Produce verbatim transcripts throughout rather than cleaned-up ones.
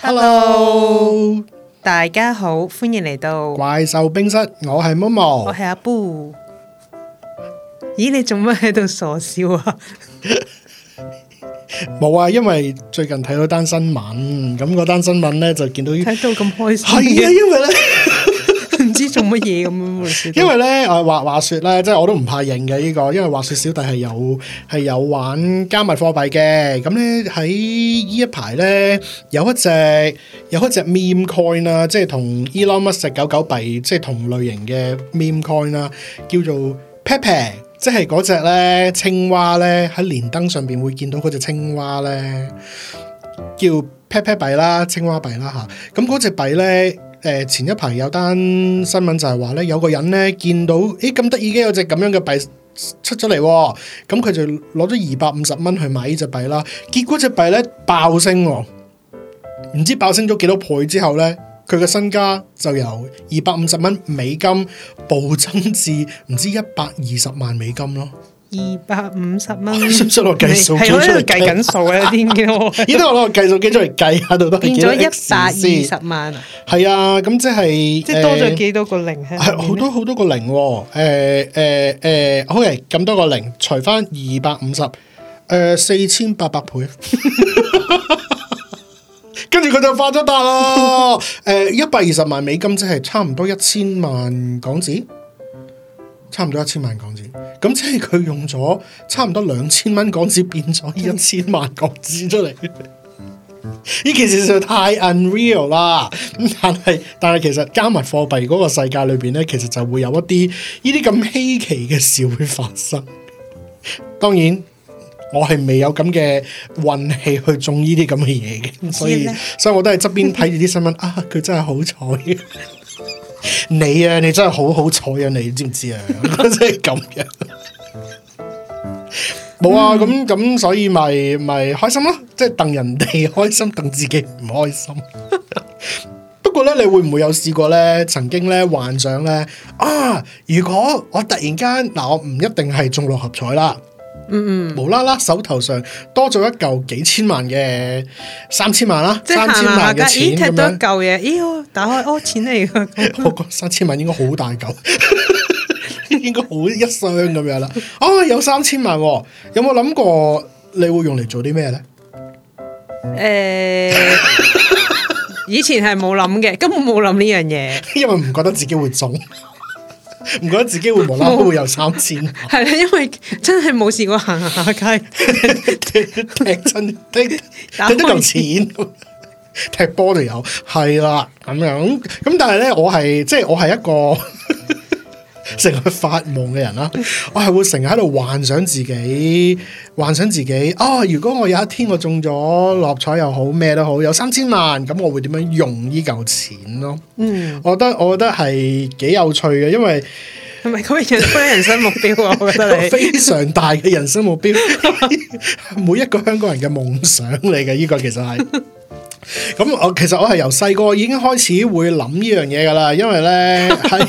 Hello， 大家好，歡迎嚟到怪獸冰室，我係 Momo， 我係阿 Boo。咦，你做乜喺度傻笑啊？ 冇啊，因為最近睇到單新聞，咁嗰單新聞咧就見到睇到咁開心， 係啊，因為咧。 唔知做乜嘢咁樣， 因為咧，誒話話說咧，即係我都唔怕認嘅呢個，因為話說小弟係有係有玩加密貨幣嘅，咁咧喺呢一排咧有一隻有一隻 meme coin 啦，即係同 Elon Musk 狗狗幣即係同類型嘅 meme coin 啦，叫做 Pepe， 即係嗰隻咧青蛙咧喺連登上邊會見到嗰隻青蛙咧叫 Pepe 幣啦，青蛙幣啦吓，咁嗰隻幣咧。誒前一排有單新聞就係話咧，有個人咧見到，誒咁得意嘅有隻咁樣嘅幣出咗嚟，咁佢就攞咗二百五十蚊去買呢隻幣啦。結果隻幣咧爆升，唔知爆升咗幾多倍之後咧，佢嘅身家就由二百五十蚊美金暴增至唔知一百二十萬美金咯。 二百五十蚊， 識唔識攞計數機出嚟計緊數啊？點見到我？ 依家我攞個計數機出嚟計下，到底變咗一百二十萬啊？ 係啊，咁即係即係多咗幾多個零？係好多好多個零喎。誒誒誒，OK，咁多個零除翻二百五十，誒四千八百倍。跟住佢就發咗達啦。誒，一百二十萬美金即係差唔多一千萬港紙。差唔多一千萬港紙，咁即係佢用咗差唔多兩千蚊港紙變咗一千萬港紙出嚟，呢件事實在太 unreal 啦！咁但係但係其實加密貨幣嗰個世界裏邊咧，其實就會有一啲呢啲咁稀奇嘅事會發生。當然，我係未有咁嘅運氣去中呢啲咁嘅嘢嘅，所以所以我都係側邊睇住啲新聞啊，佢真係好彩。你啊，你真係好好彩啊！你知唔知啊？真係咁樣，冇啊！咁咁，所以咪咪開心咯，即係戥人哋開心，戥自己唔開心。不過咧，你會唔會有試過咧？曾經咧幻想咧啊！如果我突然間嗱，我唔一定係中六合彩啦。嗯嗯，無啦啦手頭上多咗一嚿幾千萬嘅三千萬啦，即三千萬嘅錢咁樣，咦，踢到一嚿嘢，咦，打開哦，錢嚟噶，我覺得三千萬應該好大嚿，應該好一箱咁樣啦。啊，有三千萬，有冇諗過你會用嚟做啲咩咧？ 誒、欸，以前係冇諗嘅，根本冇諗呢樣嘢， 因為唔覺得自己會中。唔覺得自己會無啦啦會有三千， 係啦，因為真係冇試過行下街踢親踢踢得嚿錢，踢波就有，係啦咁樣。咁但係咧，我係即係我係一個成日發夢嘅人啦。我係會成日喺度幻想自己，幻想自己啊！如果我有一天我中咗六合彩又好，咩都好，有三千萬，咁我會點樣用呢嚿錢咯？嗯，我覺得我覺得係幾有趣嘅，因為係咪嗰個人嗰人生目標啊？我覺得你非常大嘅人生目標，每一個香港人嘅夢想嚟嘅，呢個其實係。咁我其實我係由細個已經開始會諗呢樣嘢噶啦，因為咧係。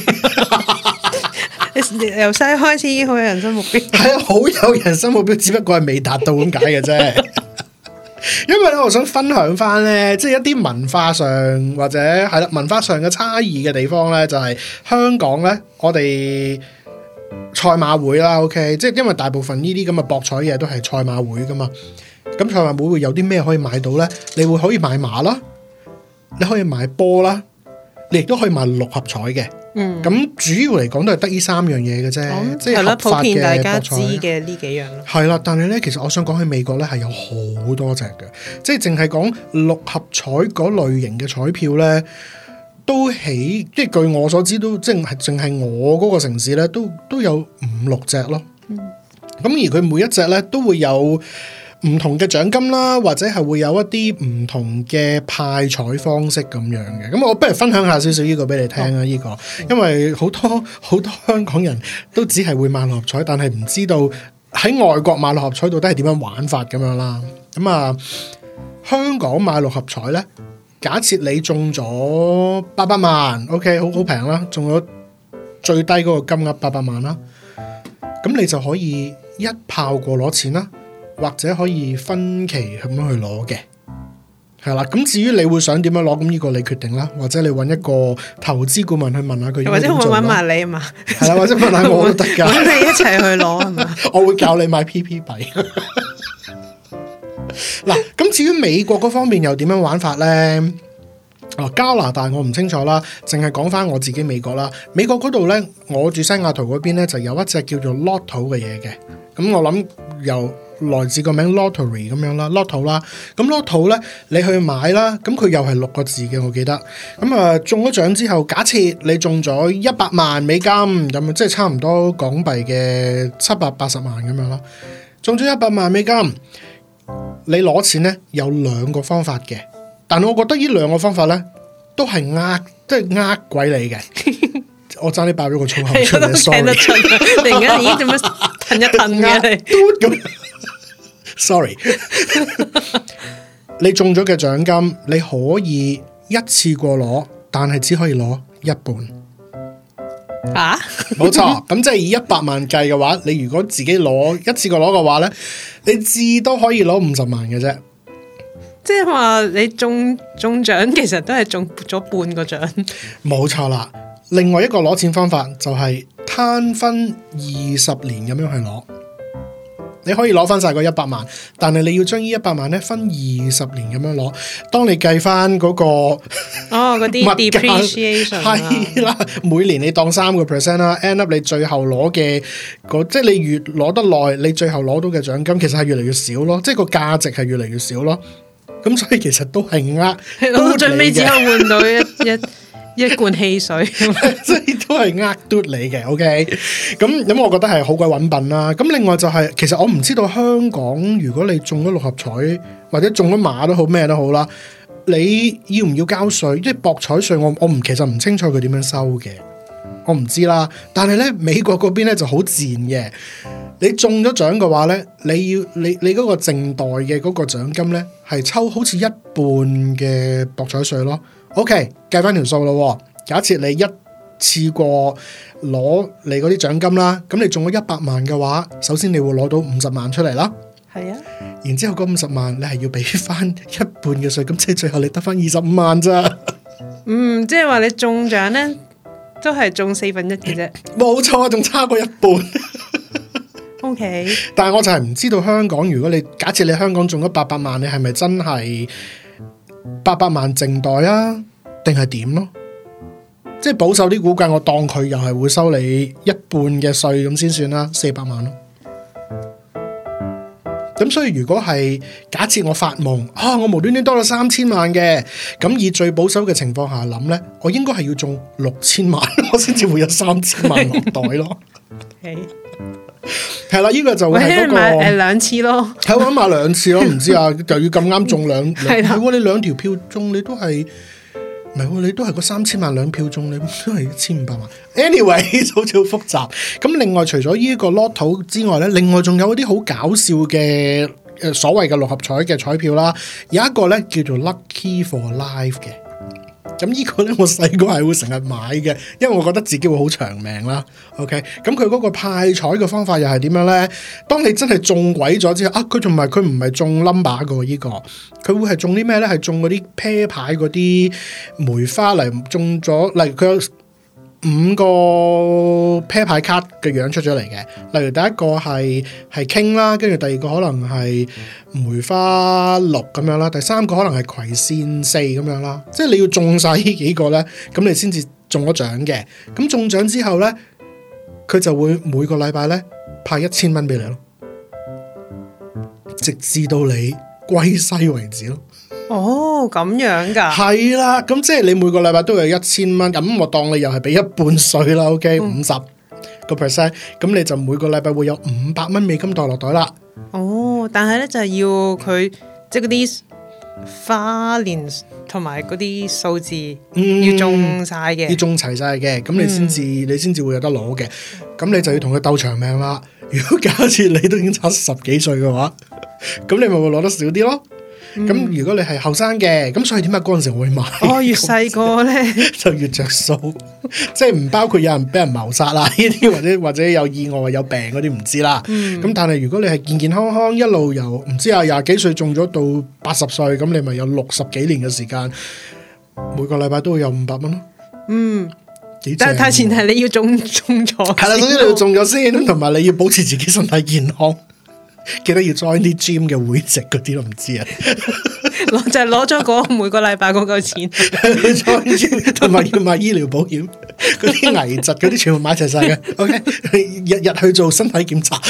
由細開始已經好有人生目標， 係啊，好有人生目標，只不過係未達到咁解嘅啫。因為咧，我想分享翻咧，即係一啲文化上或者係啦文化上嘅差異嘅地方咧，就係香港咧，我哋賽馬會啦 ，OK， 即係因為大部分呢啲咁嘅博彩嘢都係賽馬會噶嘛。咁賽馬會會有啲咩可以買到咧？你會可以買馬啦，你可以買波啦，你亦都可以買六合彩嘅。嗯，咁主要嚟講都係得呢三樣嘢嘅啫，嗯、即係合法嘅大家知嘅呢幾樣咯。 係啦，但係咧，其實我想講喺美國咧係有好多隻嘅，即係淨係講六合彩嗰類型嘅彩票咧，都起，即係據我所知都，即係淨係我嗰個城市咧，都都有五六隻咯。嗯，咁而佢每一隻咧都會有唔同嘅獎金啦，或者係會有一啲唔同嘅派彩方式咁樣嘅，咁我不如分享下少少呢個俾你聽啊！呢、哦、個，因為好多好多香港人都只係會買六合彩，但係唔知道喺外國買六合彩到底係點樣玩法咁樣啦。咁啊，香港買六合彩咧，假設你中咗八百萬 ，OK， 好好平啦，中咗最低嗰個金額八百萬啦，咁你就可以一炮過攞錢啦。或者可以分期咁樣去攞嘅， 係啦，咁至於你會想點樣攞，咁呢個你決定啦，或者你揾一個投資顧問去問下佢， 或者我揾埋你啊嘛， 係啦，或者問下我都得㗎， 揾你一齊去攞係嘛？ 我會教你買 P P 幣。嗱，咁至於美國嗰方面又點樣玩法咧？哦，加拿大我唔清楚啦，淨係講翻我自己美國啦。美國嗰度咧，我住西雅圖嗰邊咧，就有一隻叫做 Lotto 嘅嘢嘅。咁我諗由來自個名 Lottery 咁樣啦 ，Lotto 啦。咁 Lotto 咧，你去買啦，咁佢又係六個字嘅，我記得。咁啊，中咗獎之後，假設你中咗一百萬美金，咁即係差唔多港幣嘅七百八十萬咁樣啦。中咗一百萬美金，你攞錢咧有兩個方法嘅。但係我覺得呢兩個方法咧，都係呃，即係呃鬼你嘅。我爭啲爆咗個粗口出嚟，sorry。 突然間咦，點樣褪一褪嘅你 ？sorry。你中咗嘅獎金，你可以一次過攞，但係只可以攞一半。 啊？ 冇錯，咁即係以一百萬計嘅話，你如果自己攞一次過攞嘅話咧，你至多可以攞五十萬嘅啫。 即係話你中中獎其實都係中咗半個獎， 冇錯啦。另外一個攞錢方法就係攤分二十年咁樣去攞，你可以攞翻晒個一百萬，但係你要將呢一百萬咧分二十年咁樣攞。當你計翻嗰個哦嗰啲 depreciation 係啦，每年你當三個 percent 啦 ，end up 你最後攞嘅即係你越攞得耐，你最後攞到嘅獎金其實係越嚟越少咯，即係個價值係越嚟越少咯。咁所以其實都係呃， 到最尾只可以換到一一一罐汽水， 即係都係呃嘟你嘅。OK，咁咁我覺得係好鬼揾笨啦。咁另外就係、是，其實我唔知道香港如果你中咗六合彩或者中咗馬都好咩都好啦，你要唔要交稅？即係博彩稅，我我唔其實唔清楚佢點樣收嘅，我唔知啦。但係咧美國嗰邊咧就好賤嘅。你中咗獎嘅話咧，你要你你嗰個淨代嘅嗰個獎金咧，係抽好似一半嘅博彩稅咯。OK， 計翻條數咯。假設你一次過攞你嗰啲獎金啦，咁你中咗一百萬嘅話，首先你會攞到五十萬出嚟啦。 係啊， 然之後嗰五十萬你係要俾翻一半嘅稅，咁即係最後你得翻二十五萬咋。 嗯，即係話你中獎咧，都係中四分一嘅啫。 冇錯，仲差過一半。 OK， 但係我就係唔知道香港，如果你假設你香港中咗八百萬，你係咪真係八百萬淨袋啊？定係點咯？即係保守啲估計，我當佢又係會收你一半嘅稅咁先算啦，四百萬咯。咁所以如果係假設我發夢啊，我無端端多咗三千萬嘅，咁以最保守嘅情況下諗呢，我應該係要中六千萬，我先至會有三千萬落袋咯。 Okay. 係啦，呢、這個就會係嗰、那個誒兩次咯， 係我諗買兩次咯，唔知啊，就要咁啱中兩，係的喎，你兩條票中，你都係唔係喎？你都係個三千萬兩票中，你都係一千五百萬。Anyway， 好似好複雜。咁另外除咗呢一個 Lotto 之外咧，另外仲有一啲好搞笑嘅誒所謂嘅六合彩嘅彩票啦，有一個咧叫做 Lucky for Life 嘅。咁呢個咧，我細個係會成日買嘅，因為我覺得自己會好長命啦。OK，咁佢嗰個派彩嘅方法又係點樣咧？當你真係中鬼咗之後，啊，佢仲唔係佢唔係中 number 噶呢個，佢會係中啲咩咧？係中嗰啲啤牌嗰啲梅花嚟，中咗，例如佢有五個啤牌卡嘅樣出咗嚟嘅。例如第一個係係 King 啦，跟住第二個可能係梅花六咁樣啦，第三個可能係葵扇四咁樣啦。即係你要中晒呢幾個咧，咁你先至中咗獎嘅。咁中獎之後咧，佢就會每個禮拜咧派一千蚊俾你咯，直至到你歸西為止咯。 哦，咁樣噶？ 係啦，咁即係你每個禮拜都有一千蚊，咁我當你又係俾一半稅啦。OK，五十個 percent，咁你就每個禮拜會有五百蚊美金袋落袋啦。 哦，但係咧就係要佢即係嗰啲花年同埋嗰啲數字、嗯、要中晒嘅， 要中齊晒嘅，咁你先至、嗯、你先至會有得攞嘅。咁你就要同佢鬥長命啦。如果假設你都已經差十幾歲嘅話，咁你咪會攞得少啲咯。 咁、嗯、如果你係後生嘅，咁所以點解嗰陣時我會買？ 哦，越細個咧就越着數，即係唔包括有人俾人謀殺啦呢啲，或者或者有意外有病嗰啲唔知啦。咁、嗯、但係如果你係健健康康一路由唔知啊廿幾歲中咗到八十歲，咁你咪有六十幾年嘅時間，每個禮拜都會有五百蚊咯。嗯，幾正。但係前提你要中中咗，係啦，總之你要中咗先，同埋你要保持自己身體健康。記得要 join 啲 gym 嘅會籍嗰啲都唔知啊，攞就係攞咗嗰每個禮拜嗰嚿錢，join gym 同埋要買醫療保險，嗰啲危疾嗰啲全部買齊晒嘅。OK， 日日去做身體檢查，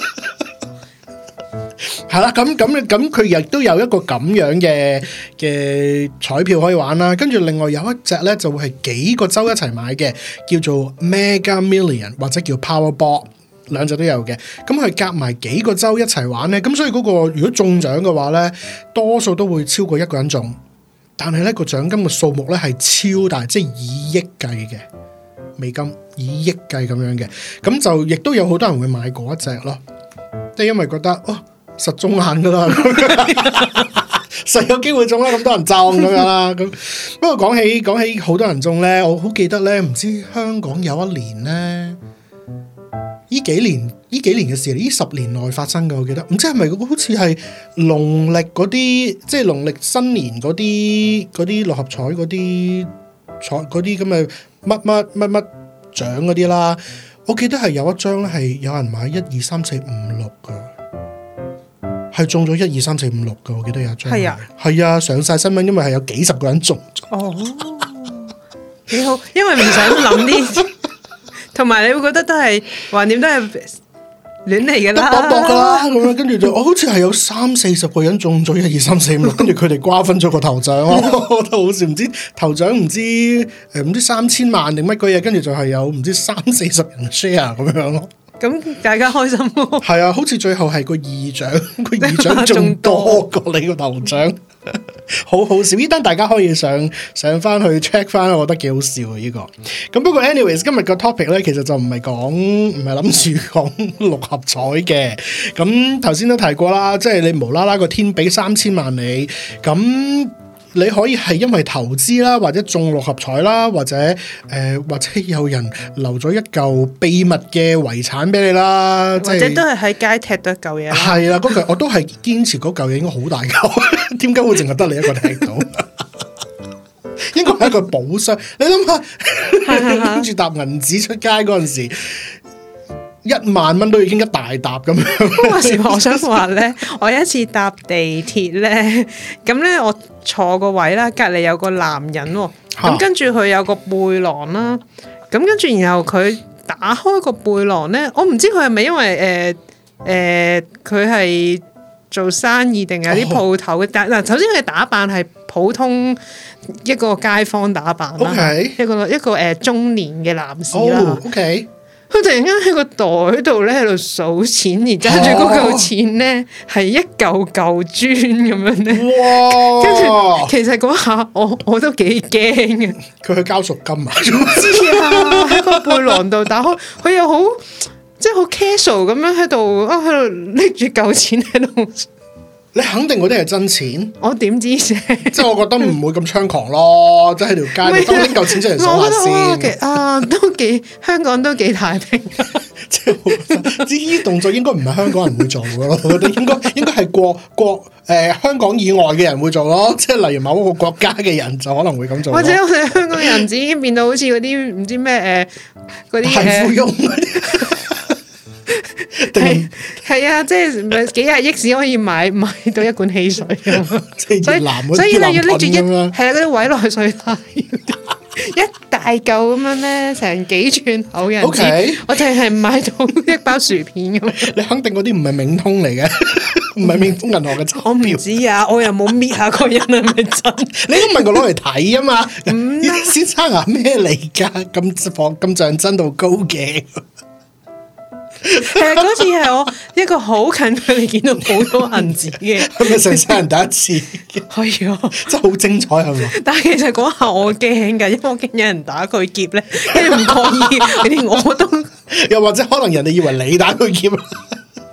係啦，咁咁咁佢亦都有一個咁樣嘅嘅彩票可以玩啦。跟住另外有一隻咧就會係幾個州一齊買嘅，叫做 Mega Million 或者叫 Powerball。兩隻都有嘅，咁佢夾埋幾個州一齊玩咧，咁所以嗰個如果中獎嘅話咧，多數都會超過一個人中，但係咧個獎金嘅數目咧係超大，即係以億計嘅美金，以億計咁樣嘅，咁就亦都有好多人會買嗰一隻咯，即係因為覺得哦實中眼噶啦，實有機會中啦，咁多人中咁樣啦，咁不過講起講起好多人中咧，我好記得咧，唔知香港有一年咧。呢幾年呢幾年嘅事，呢十年內發生嘅，我記得唔知係咪好似係農曆嗰啲，即係農曆新年嗰啲嗰啲六合彩嗰啲彩嗰啲咁嘅乜乜乜乜獎嗰啲啦。我記得係有一張咧係有人買一二三四五六噶，係中咗一二三四五六噶。我記得有一張係啊，係啊，上晒新聞，因為係有幾十個人中咗。哦，幾好，因為唔想諗啲。同埋你會覺得都係橫掂都係亂嚟噶啦，得搏搏噶啦咁樣，跟住就我好似係有三四十個人中咗一二三四五六，跟住佢哋瓜分咗個頭獎，我覺得好笑，唔知頭獎唔知誒唔知三千萬定乜鬼嘢，跟住就係有唔知三四十人 share 咁樣咯。咁大家開心咯，係啊，好似最後係個二獎，個二獎仲多過你個頭獎，好好笑。呢單大家可以上上翻去 check 翻，我覺得幾好笑啊！呢、這個咁不過 anyways 今日個 topic 咧，其實就唔係講唔係諗住講六合彩嘅。咁頭先都提過啦，即係你無啦啦個天俾三千萬你咁。你可以係因為投資啦，或者中六合彩啦，或者誒、呃，或者有人留咗一嚿秘密嘅遺產俾你啦，或者都係喺街踢到一嚿嘢。係啦，嗰嚿我都係堅持嗰嚿嘢應該好大嚿，點解會淨係得你一個踢到？應該係一個寶箱。你諗下，跟住搭銀紙出街嗰陣時。一萬蚊都已經一大沓咁樣。話時話，我想話咧，我有一次搭地鐵咧，咁咧我坐個位啦，隔離有個男人喎，咁跟住佢有個背囊啦，咁跟住然後佢打開個背囊咧，我唔知佢係咪因為誒誒佢係做生意定係啲鋪頭嘅？但嗱，首先佢打扮係普通一個街坊打扮啦，okay. 一個一個誒、呃、中年嘅男士啦。Oh, okay. 佢突然間喺個袋度咧喺度數錢，而揸住嗰嚿錢咧係一嚿嚿磚咁樣咧。哇！跟住其實嗰下我我都幾驚嘅。佢去交贖金啊？唔知啊！喺個背囊度打開，佢又好即係好 casual 咁樣喺度啊，喺度拎住嚿錢喺度。你肯定嗰啲係真錢？我點知啫？即係我覺得唔會咁猖狂咯，即係喺條街度都拎嚿錢出嚟數下先。啊，都幾香港都幾太平。即係呢啲動作應該唔係香港人會做嘅咯，我覺得應該應該係國國誒、呃、香港以外嘅人會做咯，即係例如某一個國家嘅人就可能會咁做。或者我哋香港人已經變到好似嗰啲唔知咩誒嗰啲大富翁嗰啲。係係啊，即係幾廿億先可以買買到一罐汽水咁，所以所以你要拎住一係啊嗰啲委內瑞拉一大嚿咁樣咧，成幾寸厚嘅紙，okay. 我淨係買到一包薯片咁。你肯定嗰啲唔係冥通嚟嘅，唔係冥通銀行嘅鈔票。我唔知啊，我又冇搣下個人係咪真？你都問我攞嚟睇啊嘛？嗯、先生啊，咩嚟噶？咁放咁像真到高嘅。誒，嗰次係我一個好近距離見到好多銀紙嘅，係咪成世人第一次？係啊，真係好精彩係嘛？但係其實嗰下我驚噶，因為我驚有人打佢劫咧，跟住唔覺意，連我都又或者可能人哋以為你打佢劫，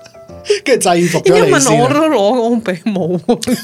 跟住制服咗你先。 問我都攞，我俾冇。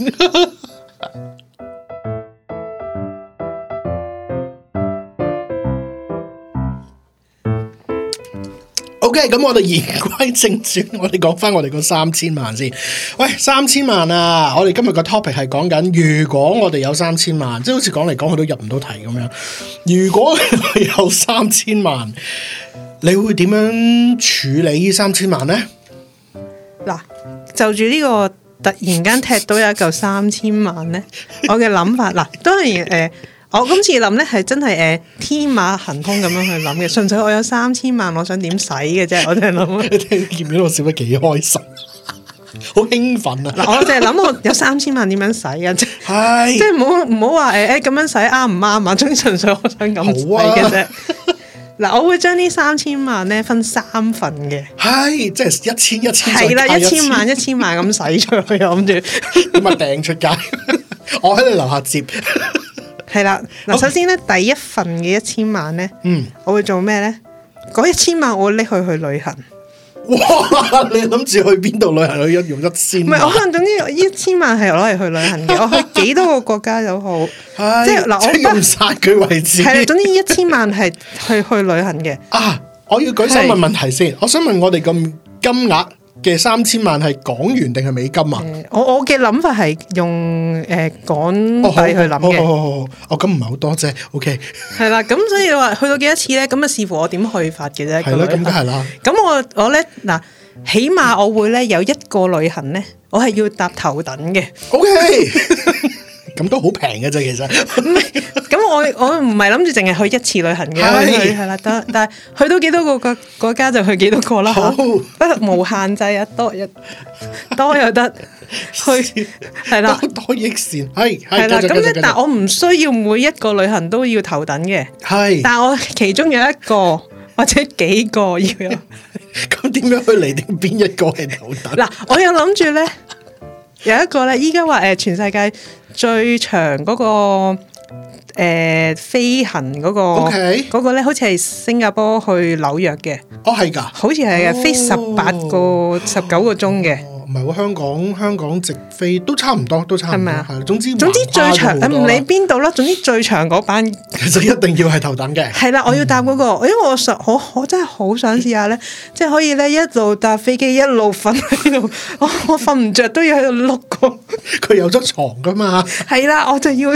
OK，咁我哋言歸正傳，我哋講翻我哋個三千萬先。喂，三千萬啊！我哋今日個 topic 係講緊，如果我哋有三千萬，即係好似講嚟講去都入唔到題咁樣。如果你有三千萬，你會點樣處理呢三千萬呢？ 嗱，就住呢個突然間踢到有一嚿三千萬咧，我嘅諗法嗱，當然誒。呃我今次諗咧係真係誒天馬行空咁樣去諗嘅，純粹我有三千萬，我想點使嘅啫，我淨係諗。 你聽見唔見到我笑得幾開心，好興奮啊！ 嗱，我淨係諗我有三千萬點樣使啊？即係即係唔好唔好話誒誒咁樣使啱唔啱啊？總之純粹我想咁使嘅啫。嗱、啊，我會將呢三千萬咧分三份嘅，係即係一千一千， 係啦，一千萬一千萬咁使出去，我諗住咁啊掟出街，我喺你樓下接。 係啦，嗱，首先咧，Okay. 第一份嘅一千萬咧，嗯，我會做咩咧？嗰一千萬我會拎去去旅行。 哇！你諗住去邊度旅行？去一用一千萬？ 唔係，我可能總之一千萬係攞嚟去旅行嘅。我去幾多個國家都好，即係嗱，我用晒佢為止。 係啦，總之一千萬係去去旅行嘅。 啊！我要舉手問問題先。我想問我哋咁金額嘅三千萬係港元定係美金啊？ 呃、我我嘅諗法係用誒、呃、港幣去諗嘅。 哦，咁唔係好多啫。OK。係啦，咁所以話去到幾多次咧？咁啊視乎我點去法嘅啫。 係啦，咁梗係啦。咁我我咧嗱，起碼我會咧有一個旅行咧，我係要搭頭等嘅。 OK。咁都好平嘅啫，其實。 唔係，咁我我唔係諗住淨係去一次旅行嘅，係啦，得，但係去到幾多個國國家就去幾多個啦嚇，不無限制啊，多一多又得，去係啦， 多益善，係係啦，咁咧，但係我唔需要每一個旅行都要頭等嘅，係，但係我其中有一個或者幾個要有， 咁點樣去嚟定邊一個係頭等？ 嗱，我有諗住咧，有一個咧，依家話誒全世界最長嗰、那個誒、呃、飛行嗰、那個嗰、okay. 個咧，好似係新加坡去紐約嘅。 哦，係㗎， 好似係嘅，飛十八個、十九個鐘嘅。 唔係喎，香港香港直飛都差唔多，都差唔多。係咪啊？總之總之最長，唔理邊度啦。總之最長嗰班， 其實一定要係頭等嘅。係啦， 我要搭嗰、那個，嗯、因為我實我我真係好想試下咧，即係可以咧一路搭飛機一路瞓喺度，我我瞓唔着都要喺度碌過。 佢有張床噶嘛？ 係啦，我就要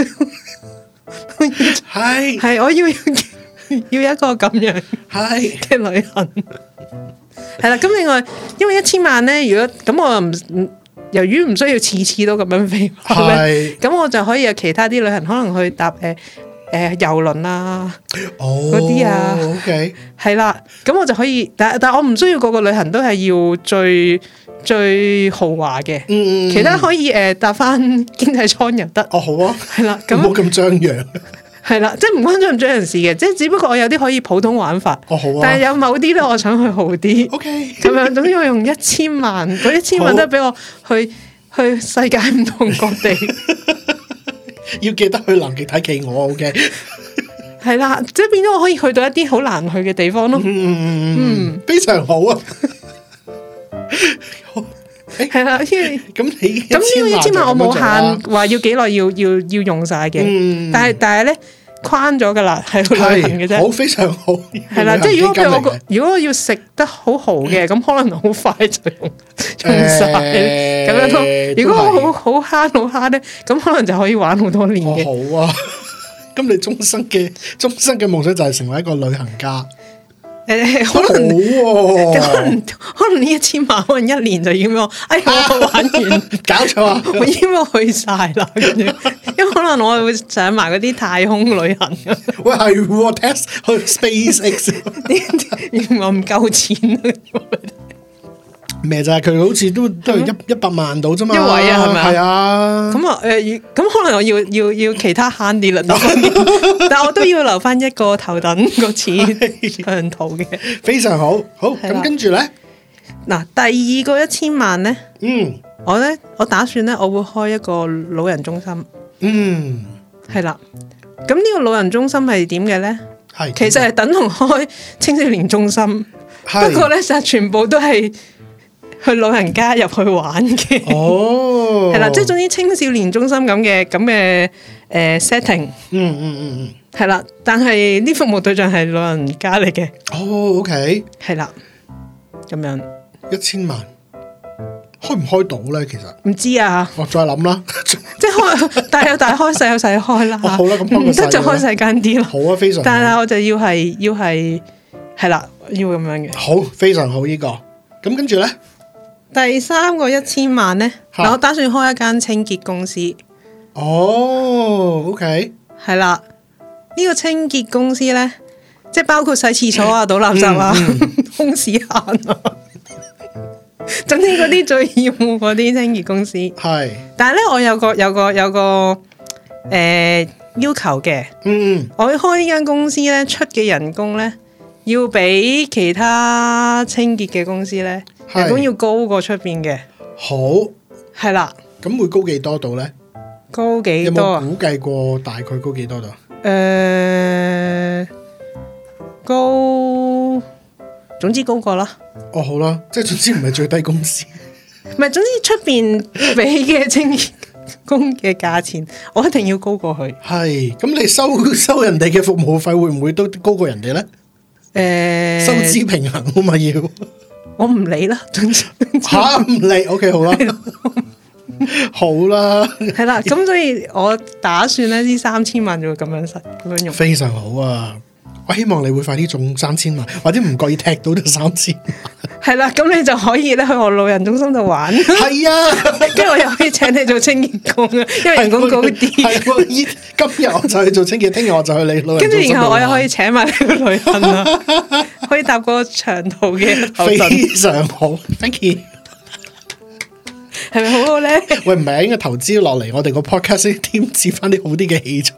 係係我要要要一個咁樣係嘅旅行。係啦，咁另外，因為一千萬咧，如果咁我又唔，由於唔需要次次都咁樣飛，係，咁我就可以有其他啲旅行，可能去搭誒誒郵輪啊，嗰啲啊 ，OK，係啦，咁我就可以，但但我唔需要個個旅行都係要最最豪華嘅，嗯，其他可以誒搭翻經濟艙又得， 哦好啊， 係啦，咁唔好咁張揚。 係啦，即係唔關張唔張人事嘅，即係只不過我有啲可以普通玩法，哦好啊，但係有某啲咧，我想去豪啲，OK，咁樣，總之我用一千萬，嗰一千萬都係俾我去去世界唔同各地， 要記得去南極睇企鵝 ，OK， 係啦，即係變咗我可以去到一啲好難去嘅地方咯， 嗯嗯，非常好啊， 係啦，因為咁你咁呢個一千萬我冇限話要幾耐要要要用晒嘅，嗯，但係但係咧框咗噶啦，係去旅行嘅啫，好非常好，係啦，即係如果譬如我如果我要食得好豪嘅，咁可能好快就用用晒咁樣咯。如果我好好慳好慳咧，咁可能就可以玩好多年嘅。 好啊，咁你終身嘅終身嘅夢想就係成為一個旅行家。 誒，可能可能可能呢一千萬可能一年就已經我，哎呀我玩完， 搞錯啊！ 我已經去晒啦，跟住，因為可能我會上埋嗰啲太空旅行。 喂，係 test 去 SpaceX， 原來唔夠錢啊！ 咩就係佢好似都都係一一百萬到啫嘛， 一位啊係咪啊？ 係啊。咁啊誒，咁可能我要要要其他慳啲啦，但係我都要留翻一個頭等個錢長途嘅。 非常好，好咁跟住咧，嗱第二個一千萬咧， 嗯， 我咧我打算咧我會開一個老人中心， 嗯， 係啦。咁呢個老人中心係點嘅咧？係其實係等同開青少年中心，不過咧就全部都係。 去老人家入去玩嘅。哦，係啦，即係總之青少年中心咁嘅咁嘅誒 setting。嗯嗯嗯嗯，係啦，但係呢服務對象係老人家嚟嘅。 哦 ，OK， 係啦，咁樣一千萬開唔開到咧？其實唔知啊， 我再諗啦。 即係開大有大開，細有細開啦。 好啦，咁唔得就開細間啲咯。 好啊，非常好。 但係我就要係要係係啦，要咁樣嘅。 好，非常好呢個。咁跟住咧， 第三個一千萬咧，嗱，我打算開一間清潔公司。 哦，OK， 係啦，呢個清潔公司咧，即係包括洗廁所啊、倒垃圾啊、空屎閒啊。總之嗰啲最厭惡嗰啲清潔公司係，但係咧我有個有個有個誒、呃、要求嘅，嗯，我要開呢間公司咧，出嘅人工咧要比其他清潔嘅公司咧人工要高過出邊嘅。好，係啦，咁會高幾多度咧？高幾多啊？有冇估計過大概高幾多度？誒、呃，高。總之高過啦。哦，好啦，即係總之唔係最低工資。唔係，總之出邊俾嘅清潔工嘅價錢，我一定要高過佢。係，咁你收收人哋嘅服務費會唔會都高過人哋咧？誒、欸，收支平衡啊嘛要。我唔理啦，總之吓唔理。O K， 好啦，好啦，係啦。咁所以我打算咧，呢三千萬就會咁樣實咁樣用。非常好啊！我希望你會快啲中三千萬，或者唔覺意踢到就三千萬。係啦，咁你就可以咧去我老人中心度玩。係啊，跟住我又可以請你做清潔工啊，因為人工高啲。係，今日我就去做清潔，聽日我就去你老人中心。跟住然後我又可以請埋你去旅行啊，可以搭個長途嘅頭等。非常好 ，thank you。係咪好好咧？喂，唔係應該投資落嚟我哋個 podcast 添置翻啲好啲嘅器材。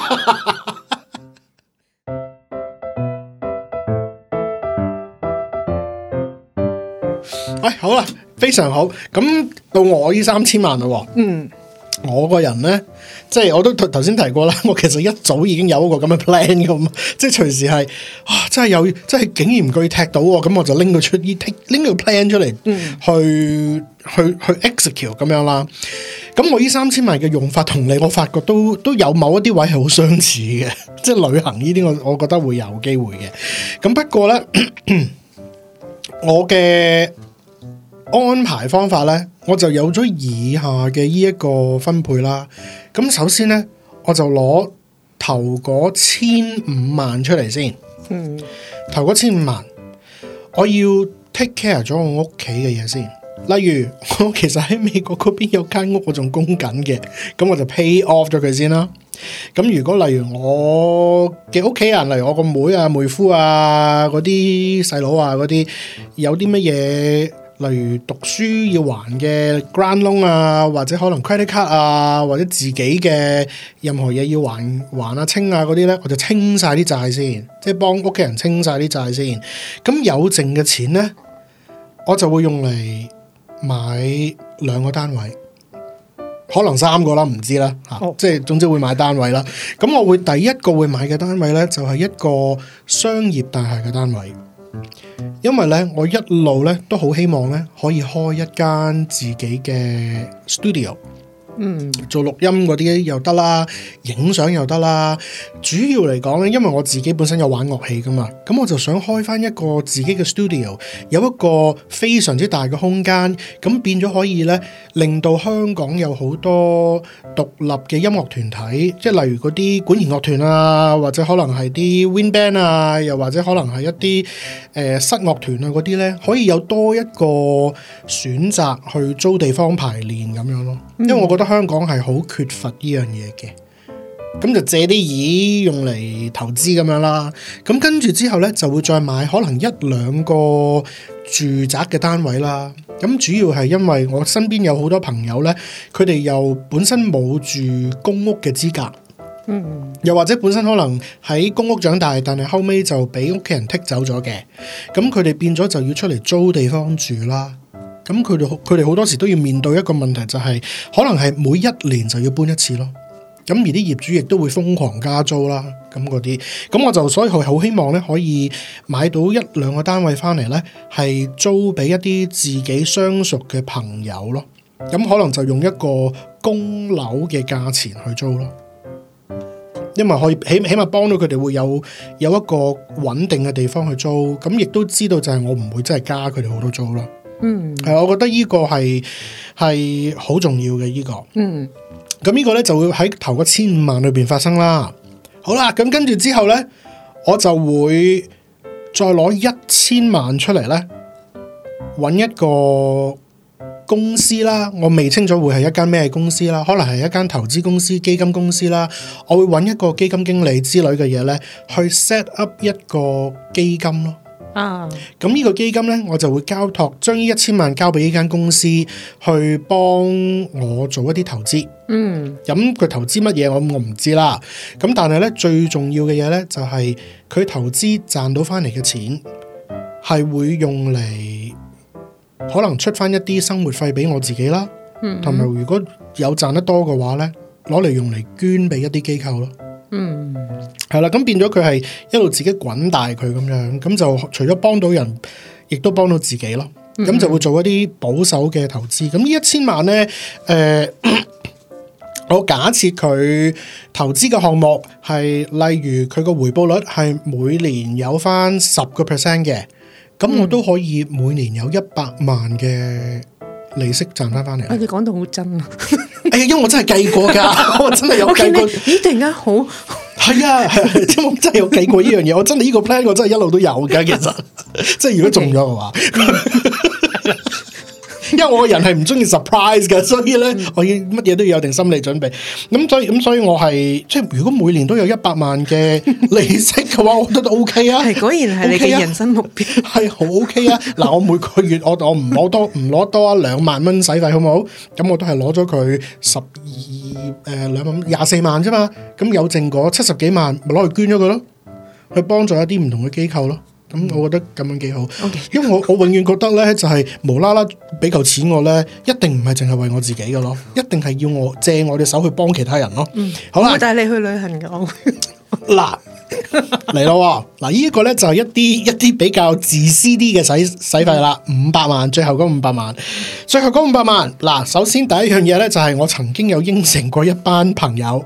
喂、哎，好啦，非常好。咁到我呢三千萬啦。嗯，我個人咧，即係我都頭先提過啦。我其實一早已經有一個咁嘅 plan 咁，即係隨時係啊，真係有，真係竟然唔具踢到，咁我就拎到出呢拎個 plan 出嚟，嗯，去去去 execute 咁樣啦。咁我呢三千萬嘅用法同你，我發覺都都有某一啲位係好相似嘅，即係旅行呢啲，我我覺得會有機會嘅。咁不過咧，我嘅安排方法咧，我就有咗以下嘅呢一個分配啦。咁首先咧，我就攞頭嗰千五萬出嚟先。嗯，頭嗰千五萬，我要 take care 咗我屋企嘅嘢先。例如，我其實喺美國嗰邊有間屋，我仲供緊嘅，咁我就 pay off 咗佢先啦。咁如果例如我嘅屋企人，例如我個妹啊、妹夫啊、嗰啲細佬啊、嗰啲有啲乜嘢，例如讀書要還嘅 grant loan 啊，或者可能 credit card 啊，或者自己嘅任何嘢要還還啊清啊嗰啲咧，我就清晒啲債先，即係幫屋企人清晒啲債先。咁有剩嘅錢咧，我就會用嚟買兩個單位，可能三個啦，唔知啦吓，哦、即係總之會買單位啦。咁我會第一個會買嘅單位咧，就係一個商業大廈嘅單位。因為咧，我一路咧都好希望咧可以開一間自己嘅 studio，嗯，做錄音嗰啲又得啦，影相又得啦。主要嚟講咧，因為我自己本身有玩樂器噶嘛，咁我就想開翻一個自己嘅 studio，有一個非常之大嘅空間，咁變咗可以咧令到香港有好多獨立嘅音樂團體，即係例如嗰啲管弦樂團啊，或者可能係啲 wind band 啊，又或者可能係一啲誒、呃、室樂團啊嗰啲咧，可以有多一個選擇去租地方排練咁樣咯。因為我覺得香港係好缺乏呢樣嘢嘅，咁就借啲椅用嚟投資咁樣啦。咁跟住之後咧，就會再買可能一兩個住宅嘅單位啦。咁主要係因為我身邊有好多朋友咧，佢哋又本身冇住公屋嘅資格，嗯，又或者本身可能喺公屋長大，但係後尾就俾屋企人剔走咗嘅，咁佢哋變咗就要出嚟租地方住啦。咁佢哋佢哋好多時都要面對一個問題，就係可能係每一年就要搬一次咯。 咁而啲業主亦都會瘋狂加租啦，咁嗰啲，咁我就所以好希望咧可以買到一兩個單位翻嚟咧，係租俾一啲自己相熟嘅朋友咯，咁可能就用一個供樓嘅價錢去租咯，因為可以起起碼幫到佢哋會有有一個穩定嘅地方去租，咁亦都知道就係我唔會真係加佢哋好多租咯。嗯，係，我覺得呢個係係好重要嘅呢個。嗯。咁呢個咧就會喺頭嗰千五萬裏邊發生啦。好啦，咁跟住之後咧，我就會再攞一千萬出嚟咧，搵一個公司啦。我未清楚會係一間咩公司啦，可能係一間投資公司、基金公司啦。我會搵一個基金經理之類嘅嘢咧，去 set up 一個基金咯。啊，咁呢個基金咧，我就會交託將呢一千萬交俾呢間公司去幫我做一啲投資。嗯，咁佢投資乜嘢我我唔知啦。咁但係咧最重要嘅嘢咧就係、是、佢投資賺到翻嚟嘅錢係會用嚟可能出翻一啲生活費俾我自己啦。嗯，同埋如果有賺得多嘅話咧，攞嚟用嚟捐俾一啲機構咯。嗯，係啦，咁變咗佢係一路自己滾大佢咁樣，咁就除咗幫到人，亦都幫到自己咯。咁、嗯、就會做一啲保守嘅投資。咁呢一千萬咧，誒、呃，我假設佢投資嘅項目係，例如佢個回報率係每年有翻十個 percent 嘅，咁我都可以每年有一百萬嘅利息賺翻翻嚟。 你講到好真啊！ 哎呀，因為我真係計過噶，我真係有計過。 咦，突然間好係啊，係啊，因為我真係有計過呢樣嘢，我真係呢個 plan 我真係一路都有噶，其實即係如果中咗嘅話。Okay. 因為我個人係唔中意 surprise 嘅，所以咧我要乜嘢都要有定心理準備。咁所以咁所以我係即係如果每年都有一百萬嘅利息嘅話，我覺得都 OK 啊。係，果然係你嘅人生目標，係好 OK 啊。嗱，我每個月我我唔攞多唔攞多一兩萬蚊使費，好唔好？咁我都係攞咗佢十二誒兩萬廿四萬啫嘛。咁有剩嗰七十幾萬，咪攞去捐咗佢咯，去幫助一啲唔同嘅機構咯。咁我覺得咁樣幾好，okay. 因為我我永遠覺得咧就係、是、無啦啦俾嚿錢我咧，一定唔係淨係為我自己嘅咯，一定係要我借我隻手去幫其他人咯。嗯，好啦，我帶你去旅行嘅。嗱嚟咯，嗱呢一個咧就係一啲一啲比較自私啲嘅使使費啦，五百萬，最後嗰五百萬，最後嗰五百萬。嗱，首先第一樣嘢咧就係我曾經有應承過一班朋友。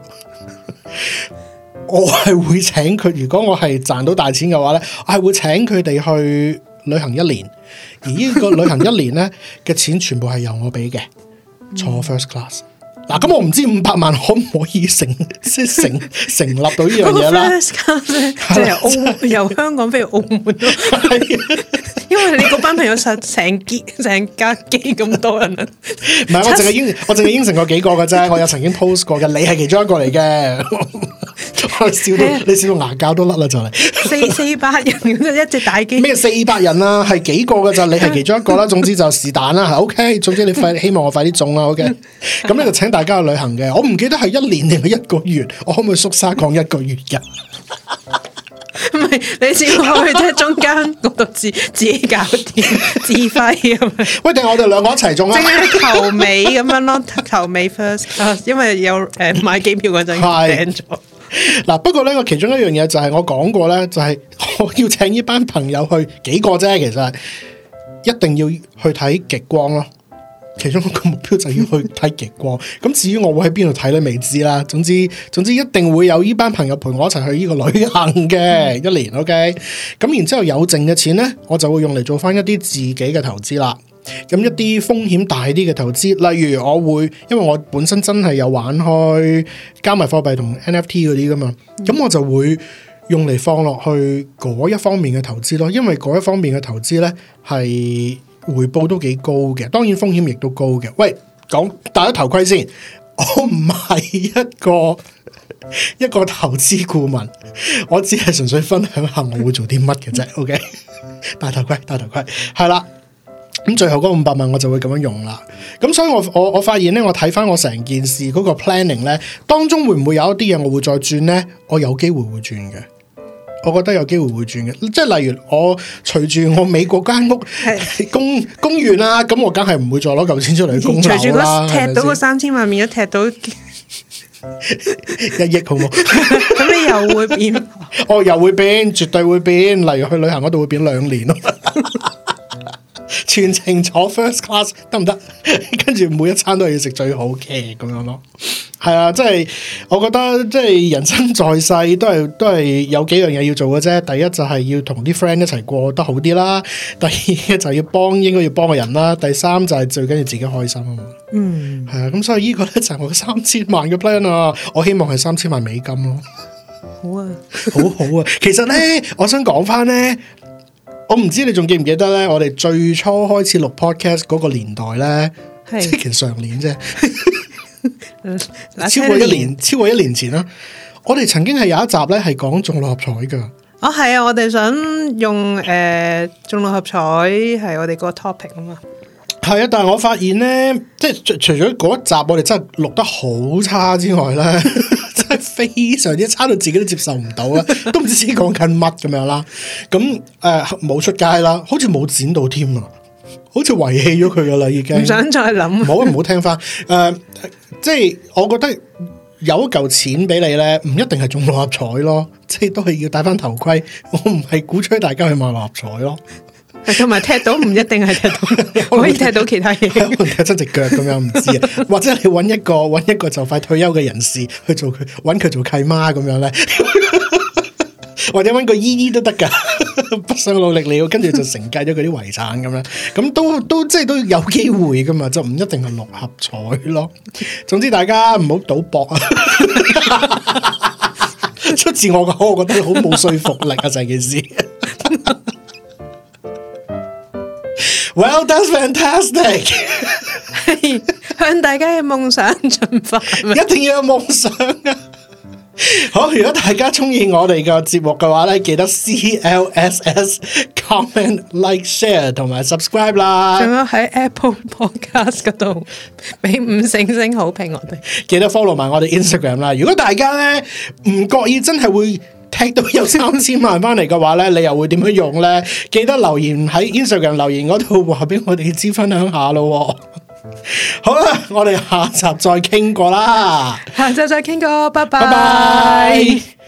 我係會請佢，如果我係賺到大錢嘅話咧，我係會請佢哋去旅行一年，而呢個旅行一年咧嘅錢全部係由我俾嘅，坐 first class。嗱，咁我唔知五百萬可唔可以成即係成成立到呢樣嘢啦？first class 即係澳由香港飛去澳門咯，因為你嗰班朋友實成機成架機咁多人啊，唔係我淨係應我淨係應承過幾個嘅啫，我有曾經 post 過嘅，你係其中一個嚟嘅。笑到你笑到牙膠都甩啦，就嚟四四百人咁一隻大機咩？四百人啊，係幾個嘅咋？你係其中一個啦。總之就是但啦，係 OK。總之你快希望我快啲中啦，OK。咁咧就請大家去旅行嘅。我唔記得係一年定係一個月，我可唔可以縮沙講一個月嘅？唔係你先去即係中間嗰度自自己搞掂自費咁樣。喂，定係我哋兩個一齊中啊？淨係頭尾咁樣咯，頭尾 first， 因為有誒、呃、買機票嗰陣訂咗。嗱，不過咧，我其中一樣嘢就係我講過咧，就係、是、我要請呢班朋友去幾個啫，其實一定要去睇極光咯。其中一個目標就要去睇極光。咁至於我會喺邊度睇咧，未知啦。總之總之一定會有呢班朋友陪我一齊去呢個旅行嘅、嗯、一年。OK，咁然之後有剩嘅錢咧，我就會用嚟做翻一啲自己嘅投資啦。咁一啲風險大啲嘅投資，例如我會，因為我本身真係有玩開加密貨幣同 N F T 嗰啲噶嘛，咁、嗯、我就會用嚟放落去嗰一方面嘅投資咯。因為嗰一方面嘅投資咧係回報都幾高嘅，當然風險亦都高嘅。喂，講戴咗頭盔先，我唔係一個一個投資顧問，我只係純粹分享下我會做啲乜嘅啫。OK， 戴頭盔，戴頭盔，係啦。咁最後嗰五百萬我就會咁樣用啦。咁所以我我我發現咧，我睇翻我成件事嗰個 planning 咧，當中會唔會有一啲嘢我會再轉咧？我有機會會轉嘅，我覺得有機會會轉嘅。即係例如我隨住我美國間屋供供完啦，咁我梗係唔會再攞嚿錢出嚟供樓啦。隨住嗰踢到嗰三千萬面，一踢到一億好冇？ 咁你又會變？ 哦，又會變，絕對會變。例如去旅行嗰度會變兩年咯。全程坐 first class 得唔得？跟住每一餐都係要食最好嘅咁樣咯。係啊，即係我覺得即係人生在世都係都係有幾樣嘢要做嘅啫。第一就係要同啲 friend 一齊過得好啲啦。第二就係要幫應該要幫嘅人啦。第三就係最緊要自己開心啊嘛。嗯，係啊。咁所以呢個咧就係我嘅三千萬嘅 plan 啊。我希望係三千萬美金咯。 好啊， 好好啊。其實咧，我想講翻咧。我唔知你仲記唔記得咧？我哋最初開始錄 podcast 嗰個年代咧，即係其實上年啫，超過一年，超過一年前啦。我哋曾經係有一集咧係講中六合彩噶。 哦，係啊，我哋想用誒、呃、中六合彩係我哋個 topic 啊嘛。 係啊，但係我發現咧，即係除除咗嗰一集我哋真係錄得好差之外咧，真係非常之差到自己都接受唔到啦，都唔知自己講緊乜咁樣啦。咁誒冇出街啦，好似冇剪到添啊，好似遺棄咗佢噶啦已經。唔想再諗，唔好唔好聽翻。誒、呃，即係我覺得有一嚿錢俾你咧，唔一定係中六合彩咯，即係都係要戴翻頭盔。我唔係鼓吹大家去買六合彩咯。 同埋踢到唔一定係踢到，可以踢到其他嘢， 可能踢親隻腳咁樣唔知啊。或者你揾一個揾一個就快退休嘅人士去做佢，揾佢做契媽咁樣咧，或者揾個姨姨都得噶，不想努力了，跟住就承繼咗佢啲遺產咁樣，咁都都即係都有機會噶嘛，就唔一定係六合彩咯。總之大家唔好賭博啊！出自我嘅口，我覺得好冇說服力啊，成件事。Well, that's fantastic！ 向大家嘅夢想進發， 一定要有夢想啊！好，如果大家中意我哋嘅節目嘅話咧，記得 C L S S comment like share 同埋 subscribe 啦。仲有喺 Apple Podcast 嗰度俾五星星好評我哋，記得 follow 埋我哋 Instagram 啦。如果大家咧唔覺意真係會踢到有三千萬翻嚟嘅話咧，你又會點樣用咧？記得留言喺 Instagram 留言嗰度話俾我哋知，分享下咯。好啦，我哋下集再傾過啦，下集再傾過，拜拜。Bye bye